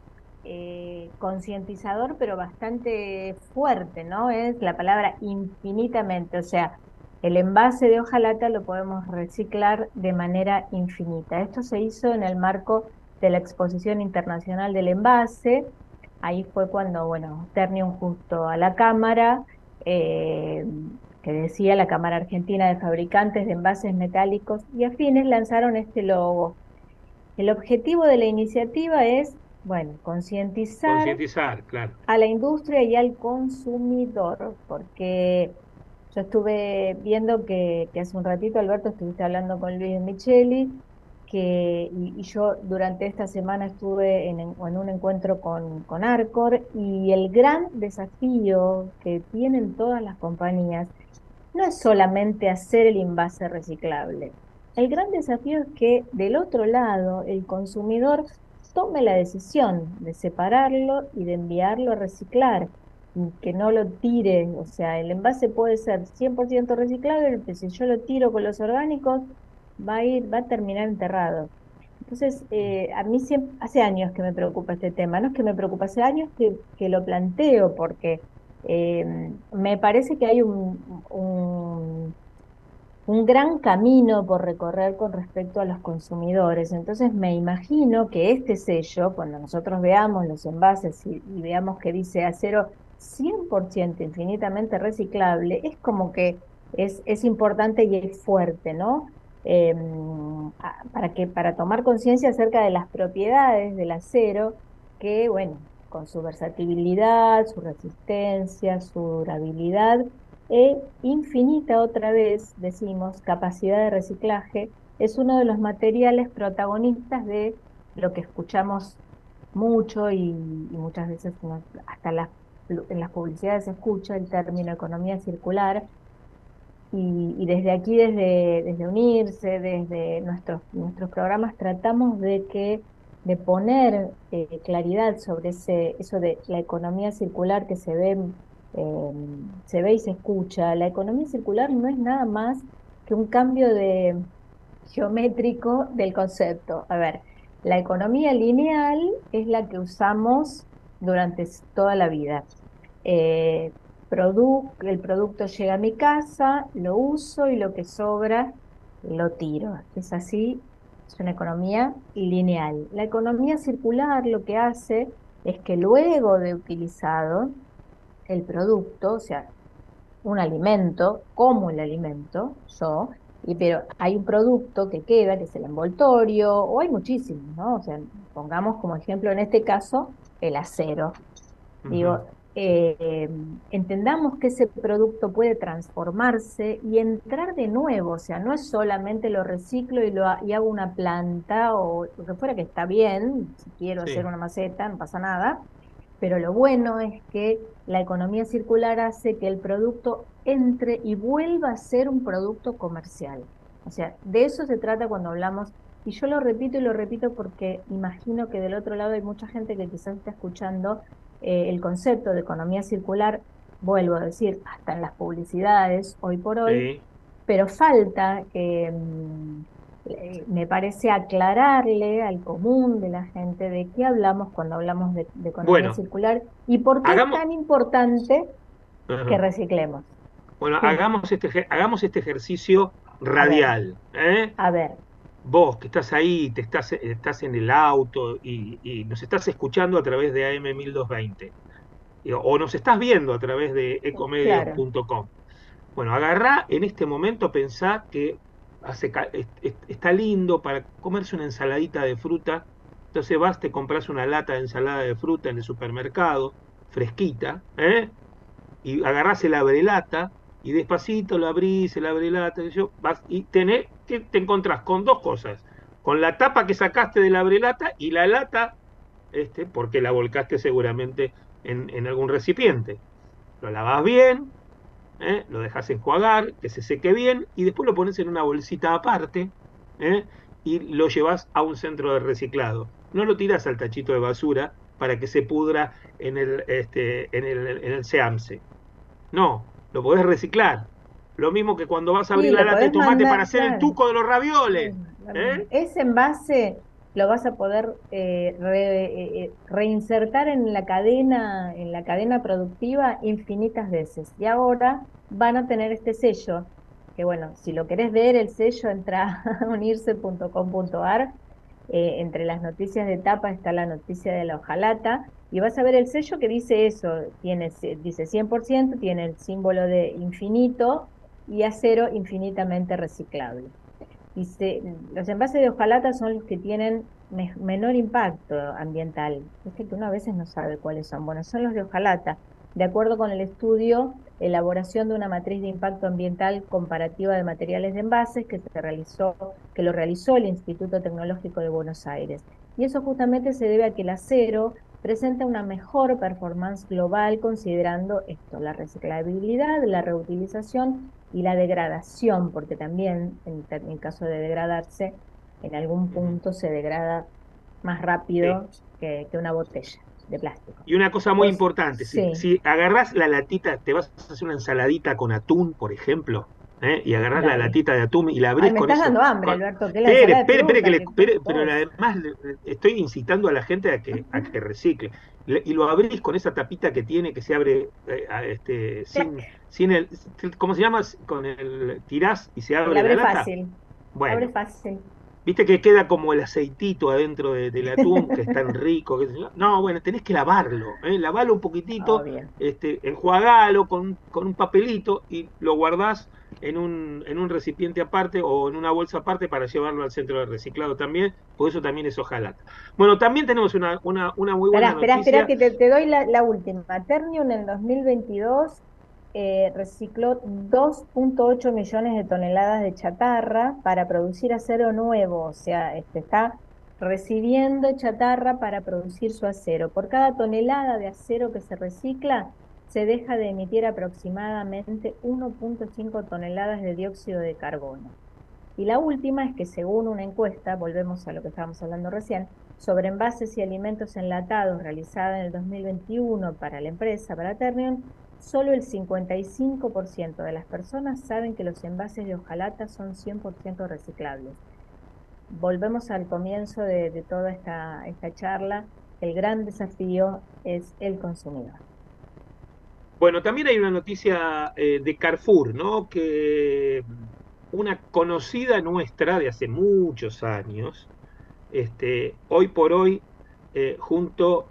concientizador, pero bastante fuerte, ¿no? Es la palabra infinitamente, o sea, el envase de hojalata lo podemos reciclar de manera infinita. Esto se hizo en el marco de la Exposición Internacional del Envase. Ahí fue cuando, bueno, Ternium justo a la Cámara, que decía la Cámara Argentina de Fabricantes de Envases Metálicos y Afines, lanzaron este logo. El objetivo de la iniciativa es, bueno, concientizar claro, a la industria y al consumidor, porque Yo estuve viendo que hace un ratito, Alberto, estuviste hablando con Luis Micheli, y yo durante esta semana estuve en un encuentro con Arcor, y el gran desafío que tienen todas las compañías no es solamente hacer el envase reciclable. El gran desafío es que del otro lado el consumidor tome la decisión de separarlo y de enviarlo a reciclar, y que no lo tire. O sea, el envase puede ser 100% reciclable, pero si yo lo tiro con los orgánicos, va a terminar enterrado. Entonces, a mí hace años que me preocupa este tema, no es que me preocupa, hace años que lo planteo, porque me parece que hay un gran camino por recorrer con respecto a los consumidores. Entonces me imagino que este sello, cuando nosotros veamos los envases y veamos que dice acero 100% infinitamente reciclable, es como que es importante y es fuerte, ¿no? Para tomar conciencia acerca de las propiedades del acero, que bueno, con su versatilidad, su resistencia, su durabilidad e infinita, otra vez decimos, capacidad de reciclaje, es uno de los materiales protagonistas de lo que escuchamos mucho y muchas veces hasta en las publicidades se escucha el término economía circular. Y desde aquí, desde Unirse, desde nuestros programas, tratamos de poner claridad sobre eso de la economía circular que se ve y se escucha. La economía circular no es nada más que un cambio geométrico del concepto. A ver, la economía lineal es la que usamos durante toda la vida. El producto llega a mi casa, lo uso y lo que sobra lo tiro. Es así, es una economía lineal. La economía circular lo que hace es que luego de utilizado el producto, o sea, un alimento, como el alimento, pero hay un producto que queda, que es el envoltorio, o hay muchísimos, ¿no? O sea, pongamos como ejemplo en este caso el acero. Digo, entendamos que ese producto puede transformarse y entrar de nuevo, o sea, no es solamente lo reciclo y hago una planta o lo que fuera, que está bien, si quiero hacer una maceta, no pasa nada, pero lo bueno es que la economía circular hace que el producto entre y vuelva a ser un producto comercial. O sea, de eso se trata cuando hablamos, y yo lo repito y lo repito porque imagino que del otro lado hay mucha gente que quizás está escuchando el concepto de economía circular, vuelvo a decir, hasta en las publicidades hoy por hoy, pero falta que me parece aclararle al común de la gente de qué hablamos cuando hablamos de economía circular y por qué es tan importante que reciclemos. Bueno, hagamos este ejercicio radial. A ver. Vos que estás ahí, estás en el auto y nos estás escuchando a través de AM 1220 o nos estás viendo a través de ecomedios.com. Bueno, agarrá en este momento, pensá que está lindo para comerse una ensaladita de fruta. Entonces vas, te compras una lata de ensalada de fruta en el supermercado, fresquita, y agarrás el abrelata y despacito lo abrís, el abrelata, vas y te encontrás con dos cosas: con la tapa que sacaste de la abrelata y la lata, porque la volcaste seguramente en algún recipiente. Lo lavás bien, lo dejas enjuagar, que se seque bien, y después lo pones en una bolsita aparte, y lo llevas a un centro de reciclado. No lo tirás al tachito de basura para que se pudra en el SEAMSE. No, lo podés reciclar. Lo mismo que cuando vas a abrir la lata de tomate para hacer el tuco de los ravioles. Ese envase lo vas a poder reinsertar en la cadena productiva infinitas veces. Y ahora van a tener este sello, que bueno, si lo querés ver, el sello, entra a unirse.com.ar. Entre las noticias de tapa está la noticia de la hojalata, y vas a ver el sello que dice eso, dice 100%, tiene el símbolo de infinito y acero infinitamente reciclable. Los envases de hojalata son los que tienen menor impacto ambiental. Es que uno a veces no sabe cuáles son. Bueno, son los de hojalata. De acuerdo con el estudio elaboración de una matriz de impacto ambiental comparativa de materiales de envases que lo realizó el Instituto Tecnológico de Buenos Aires. Y eso justamente se debe a que el acero presenta una mejor performance global considerando esto, la reciclabilidad, la reutilización y la degradación, porque también en caso de degradarse, en algún punto se degrada más rápido que una botella de plástico. Y una cosa muy importante, si agarrás la latita, te vas a hacer una ensaladita con atún, por ejemplo, y agarrás la latita de atún y la abrís con eso. Me estás dando hambre, Alberto. Pero además estoy incitando a la gente a que recicle. Y lo abrís con esa tapita que tiene, que se abre sin el, ¿cómo se llama? Con el tirás y se abre la lata. Fácil. Bueno, abre fácil. Viste que queda como el aceitito adentro del atún, que es tan rico. No, bueno, tenés que lavarlo, lavarlo un poquitito, enjuagalo con un papelito y lo guardás en un recipiente aparte o en una bolsa aparte para llevarlo al centro de reciclado también, por eso también es hojalata. Bueno, también tenemos una muy buena noticia. Espera, que te doy la última. Ternium en 2022 recicló 2.8 millones de toneladas de chatarra para producir acero nuevo, o sea, está recibiendo chatarra para producir su acero. Por cada tonelada de acero que se recicla, se deja de emitir aproximadamente 1.5 toneladas de dióxido de carbono. Y la última es que según una encuesta, volvemos a lo que estábamos hablando recién, sobre envases y alimentos enlatados realizada en el 2021 para la empresa, para Ternium, solo el 55% de las personas saben que los envases de hojalata son 100% reciclables. Volvemos al comienzo de toda esta charla. El gran desafío es el consumidor. Bueno, también hay una noticia de Carrefour, ¿no? Que una conocida nuestra de hace muchos años, hoy por hoy, junto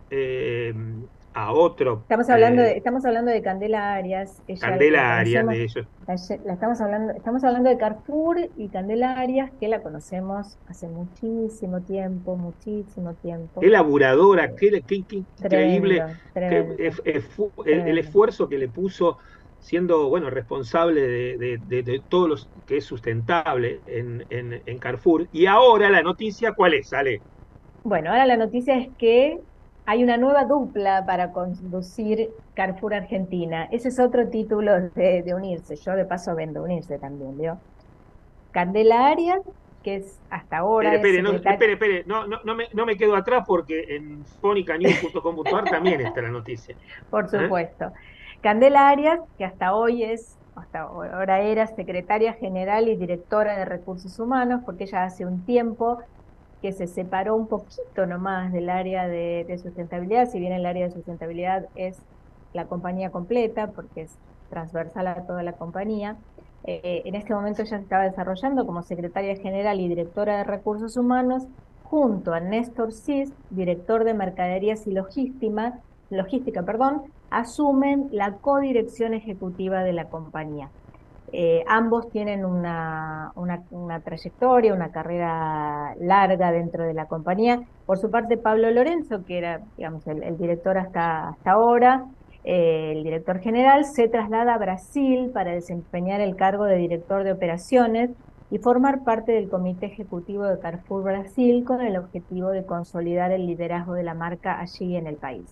a otro. Estamos hablando de Candela Arias. Candela Arias, de ellos. Estamos hablando de Carrefour y Candela Arias, que la conocemos hace muchísimo tiempo. Qué laburadora, qué increíble. Tremendo. El esfuerzo que le puso siendo, bueno, responsable de todo lo que es sustentable en Carrefour. Y ahora la noticia, ¿cuál es, Ale? Bueno, ahora la noticia es que hay una nueva dupla para conducir Carrefour Argentina. Ese es otro título de unirse. Yo de paso vendo unirse también, ¿vio? Candela Arias, que es hasta ahora... Espere, no me quedo atrás porque en fonicanews.com.ar también está la noticia. Por supuesto. Candela Arias, que hasta ahora era secretaria general y directora de Recursos Humanos, porque ella hace un tiempo que se separó un poquito nomás del área de sustentabilidad, si bien el área de sustentabilidad es la compañía completa, porque es transversal a toda la compañía. En este momento ella se estaba desarrollando como secretaria general y directora de Recursos Humanos, junto a Néstor Cis, director de Mercaderías y Logística, asumen la codirección ejecutiva de la compañía. Ambos tienen una trayectoria, una carrera larga dentro de la compañía. Por su parte, Pablo Lorenzo, que era, digamos, el director hasta ahora, el director general, se traslada a Brasil para desempeñar el cargo de director de operaciones y formar parte del comité ejecutivo de Carrefour Brasil con el objetivo de consolidar el liderazgo de la marca allí en el país.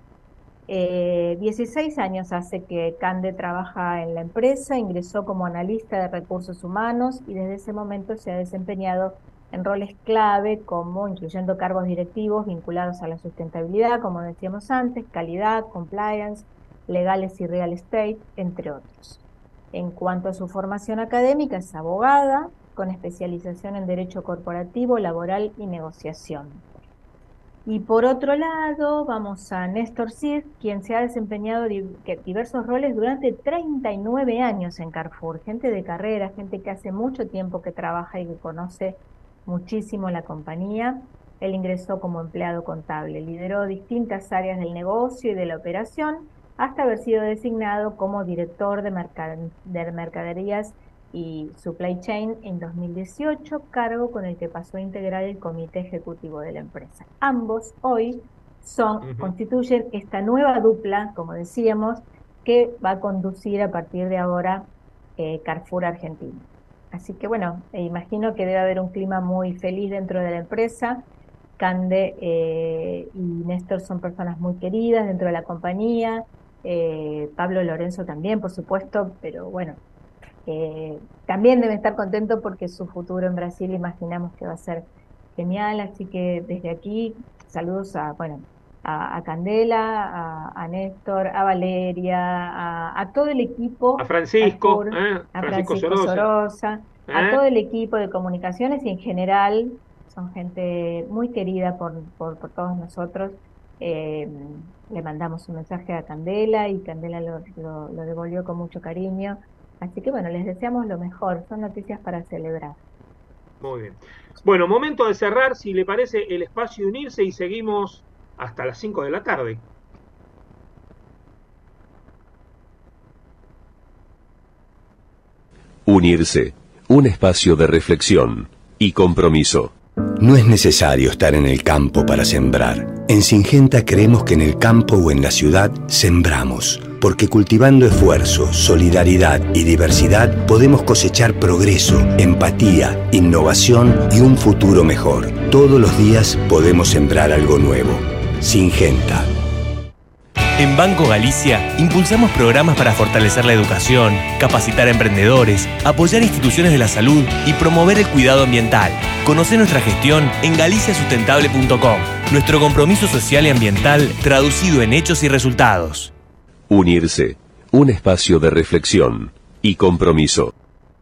16 años hace que Cande trabaja en la empresa, ingresó como analista de recursos humanos y desde ese momento se ha desempeñado en roles clave como incluyendo cargos directivos vinculados a la sustentabilidad, como decíamos antes, calidad, compliance, legales y real estate, entre otros. En cuanto a su formación académica, es abogada con especialización en Derecho Corporativo, Laboral y Negociación. Y por otro lado, vamos a Néstor Cis, quien se ha desempeñado diversos roles durante 39 años en Carrefour. Gente de carrera, gente que hace mucho tiempo que trabaja y que conoce muchísimo la compañía. Él ingresó como empleado contable, lideró distintas áreas del negocio y de la operación, hasta haber sido designado como director de mercaderías y Supply Chain en 2018, cargo con el que pasó a integrar el comité ejecutivo de la empresa. Ambos hoy constituyen esta nueva dupla, como decíamos, que va a conducir a partir de ahora Carrefour Argentina. Así que bueno, imagino que debe haber un clima muy feliz dentro de la empresa. Cande y Néstor son personas muy queridas dentro de la compañía, Pablo Lorenzo también, por supuesto, pero bueno, también debe estar contento porque su futuro en Brasil imaginamos que va a ser genial, así que desde aquí saludos a Candela, a Néstor, a Valeria, a todo el equipo, a Francisco, a Francisco Sorosa, a todo el equipo de comunicaciones y en general son gente muy querida por todos nosotros. Le mandamos un mensaje a Candela y Candela lo devolvió con mucho cariño. Así que bueno, les deseamos lo mejor, son noticias para celebrar. Muy bien. Bueno, momento de cerrar, si le parece, el espacio Unirse y seguimos hasta las 5 de la tarde. Unirse, un espacio de reflexión y compromiso. No es necesario estar en el campo para sembrar. En Syngenta creemos que en el campo o en la ciudad sembramos, porque cultivando esfuerzo, solidaridad y diversidad podemos cosechar progreso, empatía, innovación y un futuro mejor. Todos los días podemos sembrar algo nuevo. Syngenta. En Banco Galicia impulsamos programas para fortalecer la educación, capacitar a emprendedores, apoyar instituciones de la salud y promover el cuidado ambiental. Conoce nuestra gestión en galiciasustentable.com. Nuestro compromiso social y ambiental traducido en hechos y resultados. Unirse, un espacio de reflexión y compromiso.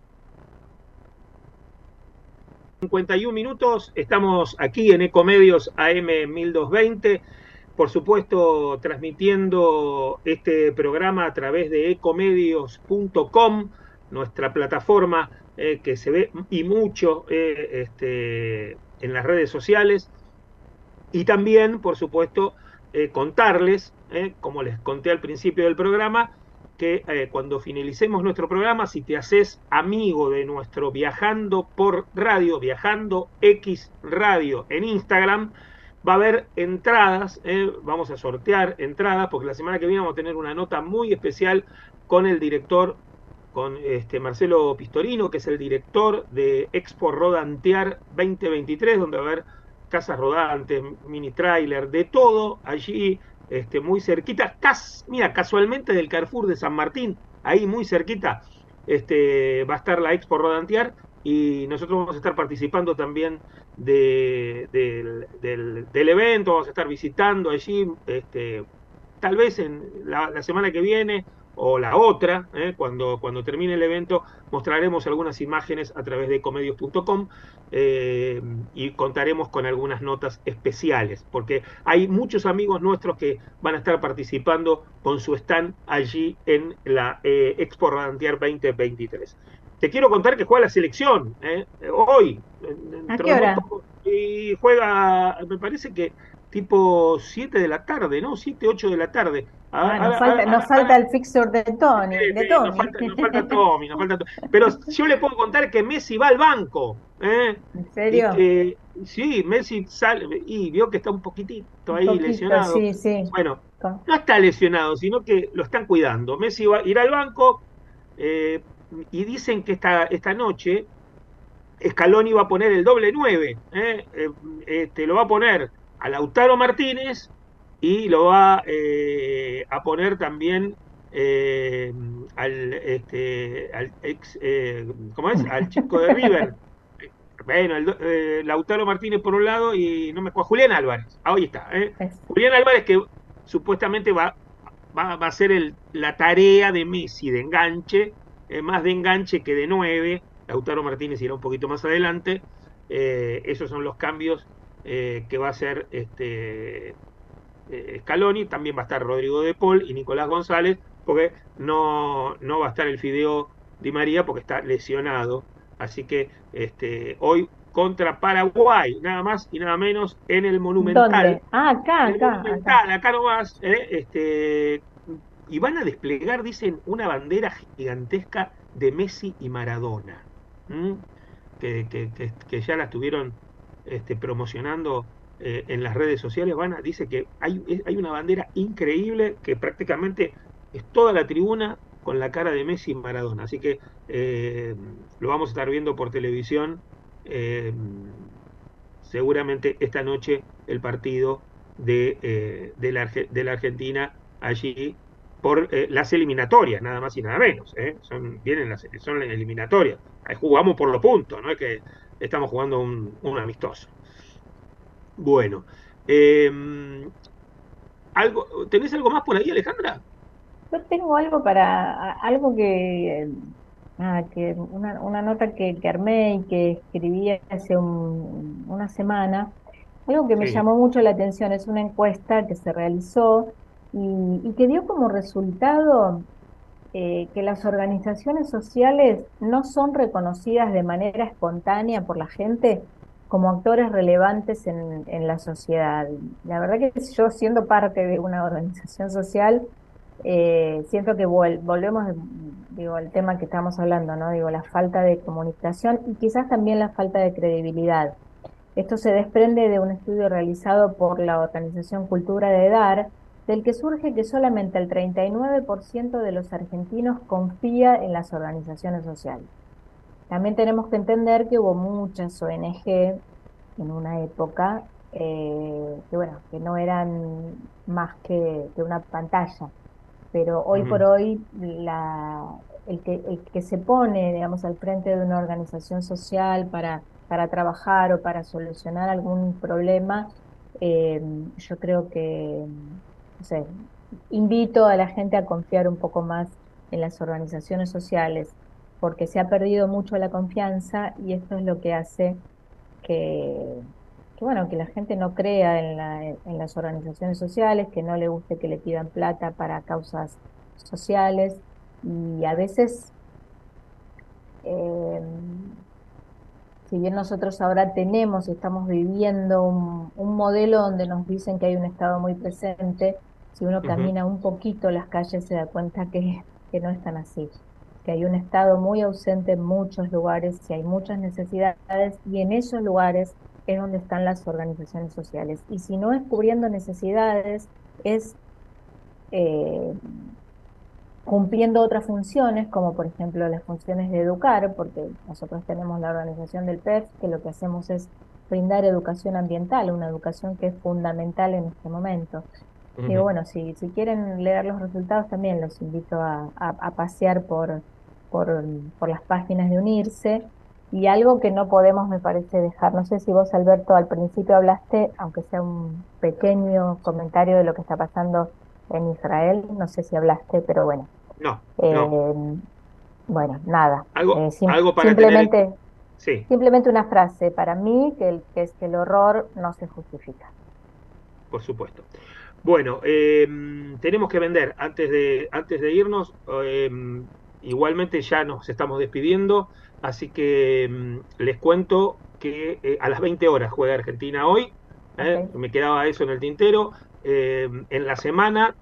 51 minutos, estamos aquí en Ecomedios AM 1220. Por supuesto, transmitiendo este programa a través de ecomedios.com, nuestra plataforma que se ve y mucho en las redes sociales. Y también, por supuesto, contarles, como les conté al principio del programa, que cuando finalicemos nuestro programa, si te haces amigo de nuestro Viajando por Radio, Viajando X Radio en Instagram, va a haber entradas, vamos a sortear entradas, porque la semana que viene vamos a tener una nota muy especial con el director, con Marcelo Pistorino, que es el director de Expo Rodantear 2023, donde va a haber casas rodantes, mini trailer, de todo allí, muy cerquita, mira, casualmente del Carrefour de San Martín, ahí muy cerquita, va a estar la Expo Rodantear, y nosotros vamos a estar participando también del evento, vamos a estar visitando allí, tal vez en la semana que viene o la otra, cuando termine el evento, mostraremos algunas imágenes a través de ecomedios.com y contaremos con algunas notas especiales, porque hay muchos amigos nuestros que van a estar participando con su stand allí en la Expo Rodantear 2023. Te quiero contar que juega la selección, hoy. ¿A qué hora? Y juega, me parece que tipo 7 de la tarde, ¿no? 7, 8 de la tarde. Nos falta el fixture de Tony. Nos falta Tommy. Pero yo le puedo contar que Messi va al banco. ¿En serio? Sí, Messi sale y vio que está un poquitito ahí lesionado. Sí. Bueno, no está lesionado, sino que lo están cuidando. Messi va a ir al banco y dicen que esta noche Scaloni va a poner el doble 9. Lo va a poner a Lautaro Martínez y lo va a poner también al ex, ¿cómo es? Al chico de River. Bueno, Lautaro Martínez por un lado y no me acuerdo, Julián Álvarez. Ahí está. Julián Álvarez, que supuestamente va a hacer la tarea de Messi, de enganche, más de enganche que de 9. Lautaro Martínez irá un poquito más adelante. Esos son los cambios que va a hacer Scaloni. También va a estar Rodrigo de Paul y Nicolás González, porque no va a estar el Fideo Di María porque está lesionado. Así que hoy contra Paraguay, nada más y nada menos, en el Monumental. ¿Dónde? Acá nomás. Y van a desplegar, dicen, una bandera gigantesca de Messi y Maradona, que ya la estuvieron promocionando en las redes sociales. Dice que hay una bandera increíble que prácticamente es toda la tribuna con la cara de Messi y Maradona. Así que lo vamos a estar viendo por televisión. Seguramente esta noche el partido de la Argentina allí por las eliminatorias, nada más y nada menos. Son las eliminatorias. Ahí jugamos por los puntos, no es que estamos jugando un amistoso. Bueno, ¿tenés algo más por ahí, Alejandra? Yo tengo algo una nota que armé y que escribí hace una semana, algo que me llamó mucho la atención. Es una encuesta que se realizó y que dio como resultado que las organizaciones sociales no son reconocidas de manera espontánea por la gente como actores relevantes en la sociedad. La verdad que yo, siendo parte de una organización social, siento que volvemos, al tema que estamos hablando, ¿no? La falta de comunicación y quizás también la falta de credibilidad. Esto se desprende de un estudio realizado por la organización Cultura de Dar, del que surge que solamente el 39% de los argentinos confía en las organizaciones sociales. También tenemos que entender que hubo muchas ONG en una época que no eran más que una pantalla, pero hoy por hoy el que se pone, digamos, al frente de una organización social para trabajar o para solucionar algún problema, yo creo que, no sé, invito a la gente a confiar un poco más en las organizaciones sociales, porque se ha perdido mucho la confianza y esto es lo que hace que la gente no crea en las organizaciones sociales, que no le guste que le pidan plata para causas sociales, y a veces, si bien nosotros ahora estamos viviendo un modelo donde nos dicen que hay un Estado muy presente, si uno camina un poquito las calles se da cuenta que no es tan así, que hay un Estado muy ausente en muchos lugares, y hay muchas necesidades, y en esos lugares es donde están las organizaciones sociales. Y si no es cubriendo necesidades, es cumpliendo otras funciones, como por ejemplo las funciones de educar, porque nosotros tenemos la organización del PEF, que lo que hacemos es brindar educación ambiental, una educación que es fundamental en este momento. Digo, bueno, si quieren leer los resultados, también los invito a pasear por las páginas de Unirse. Y algo que no podemos, me parece, dejar, no sé si vos, Alberto, al principio hablaste, aunque sea un pequeño comentario de lo que está pasando en Israel, no sé si hablaste, pero bueno. No. Bueno, nada. Algo para simplemente, sí. Simplemente una frase para mí, que es que el horror no se justifica. Por supuesto. Bueno, tenemos que vender antes de irnos. Igualmente ya nos estamos despidiendo, así que les cuento que a las 20 horas juega Argentina hoy. Me quedaba eso en el tintero. En la semana,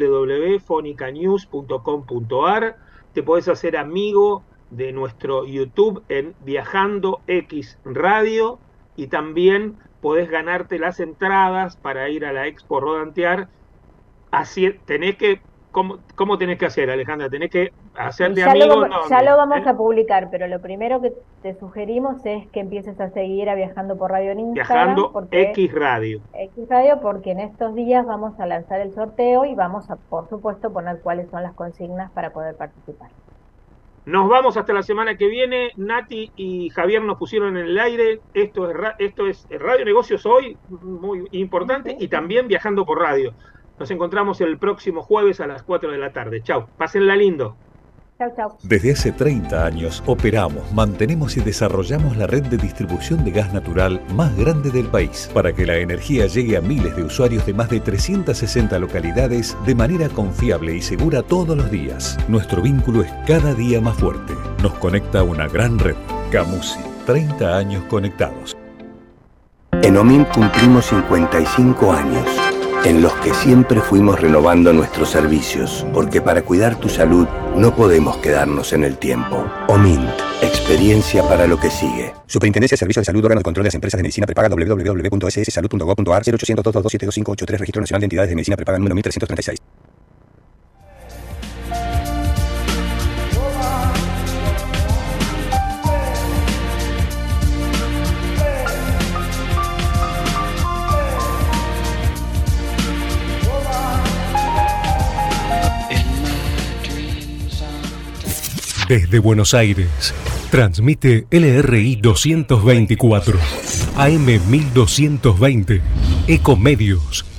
www.fonicanews.com.ar. Te podés hacer amigo de nuestro YouTube en Viajando X Radio, y también podés ganarte las entradas para ir a la Expo Rodantear. Así tenés que, ¿cómo tenés que hacer, Alejandra? ¿Tenés que hacerte amigo? Ya lo vamos a publicar, pero lo primero que te sugerimos es que empieces a seguir a Viajando por Radio en Instagram. Viajando X Radio. X Radio, porque en estos días vamos a lanzar el sorteo y vamos a, por supuesto, poner cuáles son las consignas para poder participar. Nos vamos hasta la semana que viene. Nati y Javier nos pusieron en el aire. Esto es Radio Negocios Hoy, muy importante, y también Viajando por Radio. Nos encontramos el próximo jueves a las 4 de la tarde. Chau, pásenla lindo. Chau, chau. Desde hace 30 años operamos, mantenemos y desarrollamos la red de distribución de gas natural más grande del país, para que la energía llegue a miles de usuarios de más de 360 localidades de manera confiable y segura todos los días. Nuestro vínculo es cada día más fuerte. Nos conecta una gran red. Camusi, 30 años conectados. En OMIN cumplimos 55 años, en los que siempre fuimos renovando nuestros servicios, porque para cuidar tu salud no podemos quedarnos en el tiempo. OMINT, experiencia para lo que sigue. Superintendencia de Servicios de Salud, órgano de control de las empresas de medicina prepaga, www.sssalud.gov.ar, 0800 227 2583, Registro Nacional de Entidades de Medicina Prepaga número 1336. Desde Buenos Aires, transmite LRI 224, AM 1220, Ecomedios.